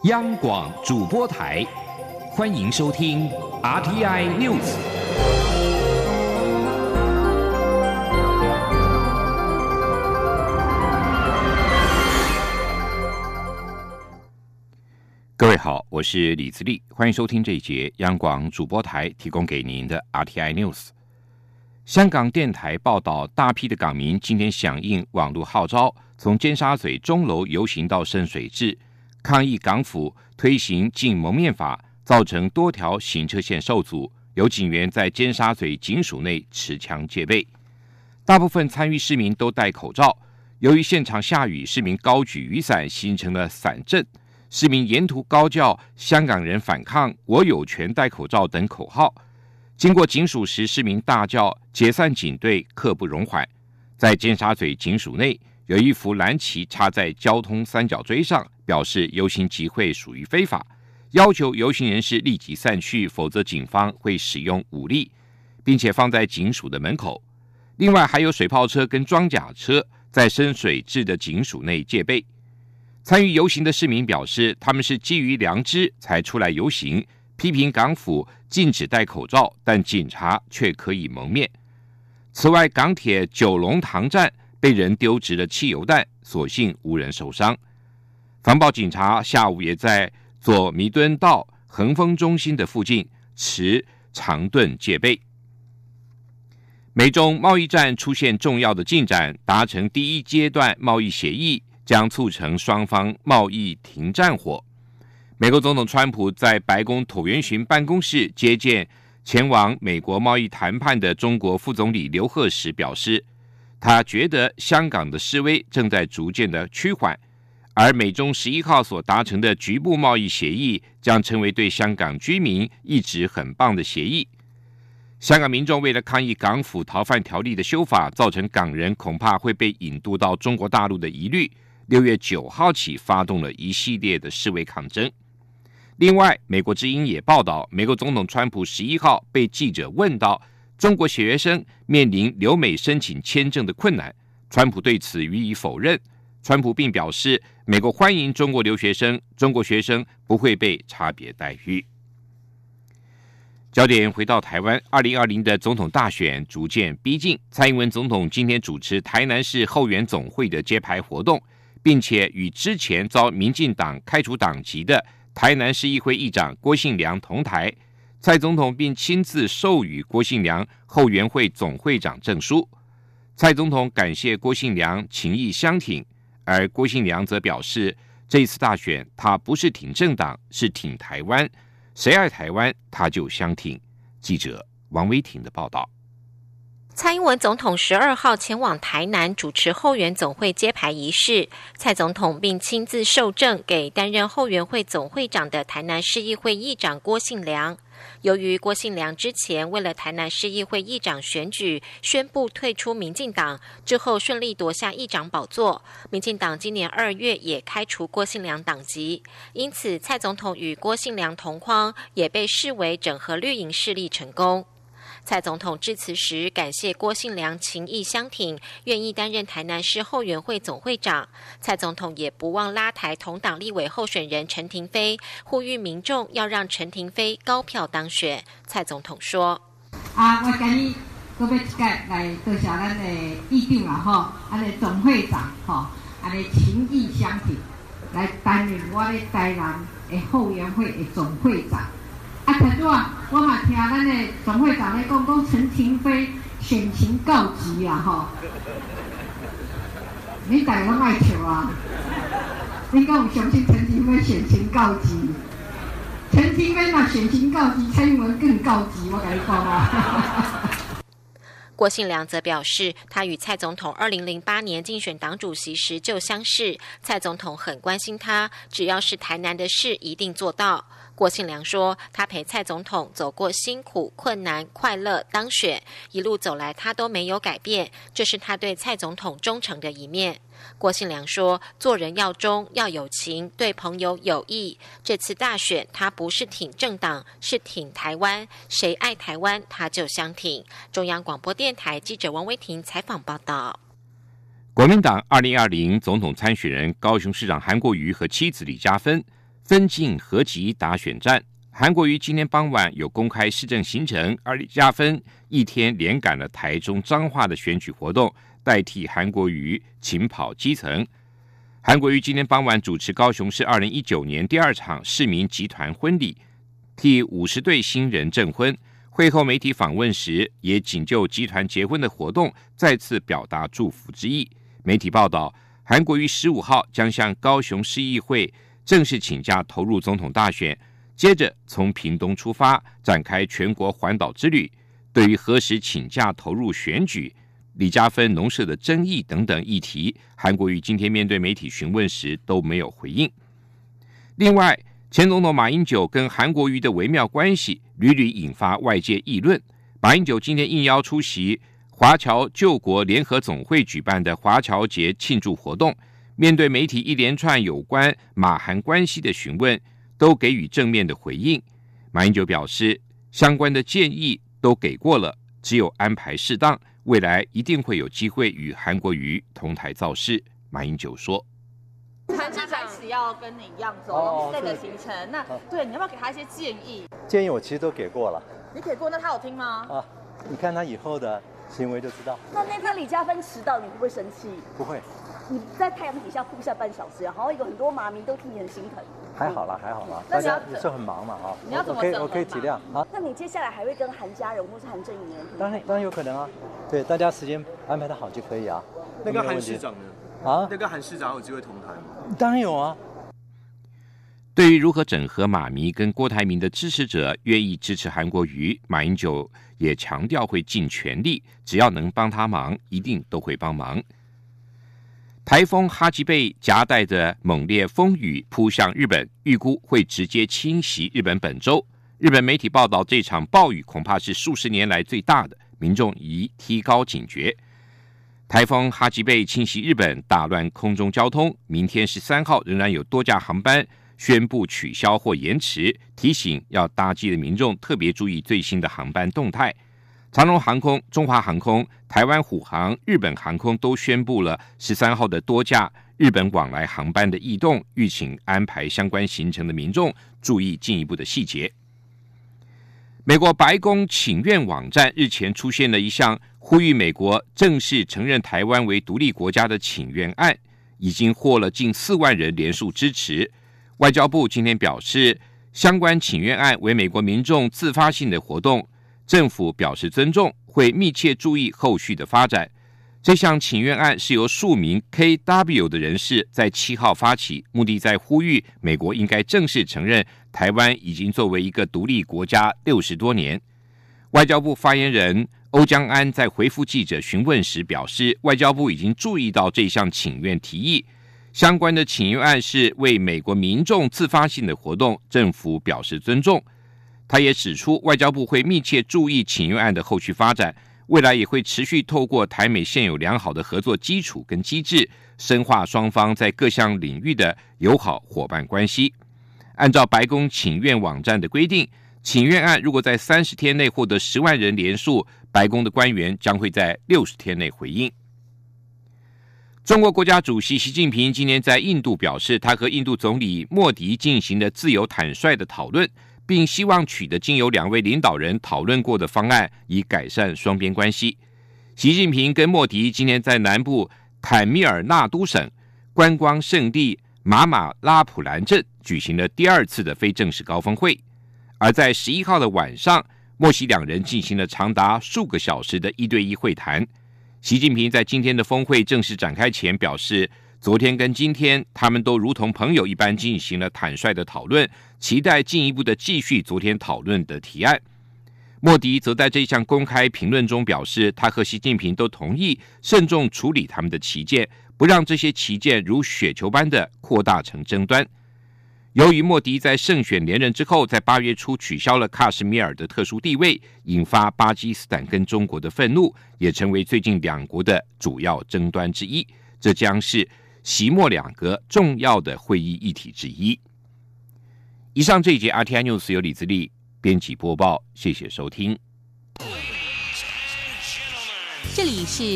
央广主播台，欢迎收听 RTI News。各位好，我是李自立，欢迎收听这一节央广主播台提供给您的 RTI News。香港电台报道，大批的港民今天响应网络号召，从尖沙咀钟楼游行到深水埗，抗议港府推行禁蒙面法，造成多条行车线受阻，有警员在尖沙咀警署内持枪戒备。大部分参与市民都戴口罩，由于现场下雨，市民高举雨伞，形成了伞阵。市民沿途高叫"香港人反抗，我有权戴口罩"等口号。经过警署时，市民大叫解散警队，刻不容缓。在尖沙咀警署内，有一幅蓝旗插在交通三角锥上，表示游行集会属于非法，要求游行人士立即散去，否则警方会使用武力，并且放在警署的门口。另外还有水炮车跟装甲车在深水埗的警署内戒备。参与游行的市民表示，他们是基于良知才出来游行，批评港府禁止戴口罩，但警察却可以蒙面。此外，港铁九龙塘站被人丢掷了汽油弹，所幸无人受伤。防暴警察下午也在左弥敦道恒丰中心的附近持长盾戒备。美中贸易战出现重要的进展，达成第一阶段贸易协议，将促成双方贸易停战火。美国总统川普在白宫椭圆形办公室接见前往美国贸易谈判的中国副总理刘鹤时表示，他觉得香港的示威正在逐渐的趋缓，而美中11号所达成的局部贸易协议将成为对香港居民一直很棒的协议。香港民众为了抗议港府逃犯条例的修法，造成港人恐怕会被引渡到中国大陆的疑虑，6月9号起发动了一系列的示威抗争。另外，美国之音也报道，美国总统川普11号被记者问到中国学生面临留美申请签证的困难，川普对此予以否认。川普并表示，美国欢迎中国留学生，中国学生不会被差别待遇。焦点回到台湾，2020的总统大选逐渐逼近，蔡英文总统今天主持台南市后援总会的揭牌活动，并且与之前遭民进党开除党籍的台南市议会议长郭信良同台。蔡总统并亲自授予郭信良后援会总会长证书。蔡总统感谢郭信良情义相挺，而郭信良则表示，这一次大选他不是挺政党，是挺台湾，谁爱台湾他就相挺。记者王威婷的报道。 蔡英文总统12号前往台南主持后援总会揭牌仪式，蔡总统并亲自授证给担任后援会总会长的台南市议会议长郭信良。由于郭信良之前为了台南市议会议长选举宣布退出民进党，之后顺利夺下议长宝座，民进党今年2月也开除郭信良党籍，因此蔡总统与郭信良同框，也被视为整合绿营势力成功。蔡总统致辞时感谢郭信良情义相挺，愿意担任台南市后援会总会长。蔡总统也不忘拉抬同党立委候选人陈亭妃，呼吁民众要让陈亭妃高票当选。蔡总统说： 我今日搁要一届来多谢咱的议长啦，咱的总会长安尼情义相挺，来担任我的台南的后援会的总会长。才拄我嘛听咱的总会长咧讲陈亭妃选情告急啊你大家拢爱笑啊！你敢有相信陈亭妃选情告急？陈亭妃若选情告急，蔡英文更告急，我跟你讲啊！ 郭信良则表示，他与蔡总统2008年竞选党主席时就相识，蔡总统很关心他，只要是台南的事一定做到。郭信良说，他陪蔡总统走过辛苦、困难、快乐、当选，一路走来他都没有改变，这是他对蔡总统忠诚的一面。郭信良说，做人要忠，要有情，对朋友有益。这次大选他不是挺政党，是挺台湾，谁爱台湾他就相挺。中央广播电台记者王威婷采访报道。 国民党2020总统参选人高雄市长韩国瑜和妻子李嘉芬分进合集打选战。韩国瑜今天傍晚有公开市政行程，而李佳芬一天连赶了台中彰化的选举活动，代替韩国瑜勤跑基层。韩国瑜今天傍晚主持高雄市2019年第2场市民集团婚礼，替50对新人证婚。会后媒体访问时，也仅就集团结婚的活动再次表达祝福之意。媒体报道，韩国瑜15号将向高雄市议会正式请假投入总统大选，接着从屏东出发，展开全国环岛之旅。对于何时请假投入选举、李佳芬农舍的争议等等议题，韩国瑜今天面对媒体询问时都没有回应。另外，前总统马英九跟韩国瑜的微妙关系屡屡引发外界议论。马英九今天应邀出席华侨救国联合总会举办的华侨节庆祝活动，面对媒体一连串有关马韩关系的询问，都给予正面的回应。马英九表示，相关的建议都给过了，只有安排适当，未来一定会有机会与韩国瑜同台造势。马英九说， 韩市长开始要跟你一样走这个行程，那对你要不要给他一些建议？ 建议我其实都给过了。 你给过，那他有听吗？ 你看他以后的行为就知道。 那天李佳芬迟到，你会不会生气？ 不会。你在太阳底下曝晒半小时，然后有很多马迷都替你很心疼。 还好啦，大家也是很忙嘛啊。 你要怎么我可以体谅啊。 那你接下来还会跟韩家人或是韩正宇人？ 当然有可能啊。对，大家时间安排的好就可以啊。 那个韩市长呢？那个韩市长有机会同台吗？ 当然有啊。 对于如何整合马迷跟郭台铭的支持者愿意支持韩国瑜，马英九也强调会尽全力，只要能帮他忙，一定都会帮忙。台风哈吉贝夹带着猛烈风雨扑向日本，预估会直接侵袭日本本州。日本媒体报道，这场暴雨恐怕是数十年来最大的，民众宜提高警觉。台风哈吉贝侵袭日本，打乱空中交通。明天13号仍然有多架航班宣布取消或延迟，提醒要搭机的民众特别注意最新的航班动态。长荣航空、中华航空、台湾虎航、日本航空都宣布了13号的多架日本往来航班的异动，预请安排相关行程的民众注意进一步的细节。美国白宫请愿网站日前出现了一项呼吁美国正式承认台湾为独立国家的请愿案，已经获了近4万人联署支持。外交部今天表示，相关请愿案为美国民众自发性的活动，政府表示尊重，会密切注意后续的发展。这项请愿案是由数名 KW 的人士在7号发起，目的在呼吁美国应该正式承认台湾已经作为一个独立国家60多年。外交部发言人欧江安在回复记者询问时表示，外交部已经注意到这项请愿提议，相关的请愿案是为美国民众自发性的活动，政府表示尊重。他也指出，外交部会密切注意请愿案的后续发展，未来也会持续透过台美现有良好的合作基础跟机制，深化双方在各项领域的友好伙伴关系。按照白宫请愿网站的规定，请愿案如果在30天内获得10万人联署，白宫的官员将会在60天内回应。中国国家主席习近平今天在印度表示，他和印度总理莫迪进行了自由坦率的讨论，并希望取得经由2位领导人讨论过的方案，以改善双边关系。习近平跟莫迪今天在南部坦米尔纳都省观光胜地马马拉普兰镇举行了第2次的非正式高峰会，而在11号的晚上，莫习2人进行了长达数个小时的1对1会谈。习近平在今天的峰会正式展开前表示，昨天跟今天他们都如同朋友一般进行了坦率的讨论，期待进一步的继续昨天讨论的提案。莫迪则在这项公开评论中表示，他和习近平都同意慎重处理他们的歧见，不让这些歧见如雪球般的扩大成争端。由于莫迪在胜选连任之后，在8月初取消了喀什米尔的特殊地位，引发巴基斯坦跟中国的愤怒，也成为最近2国的主要争端之一。这将是习莫2个重要的会议议题之一。以上这一节 RTI News 由李自力编辑播报，谢谢收听。 这里是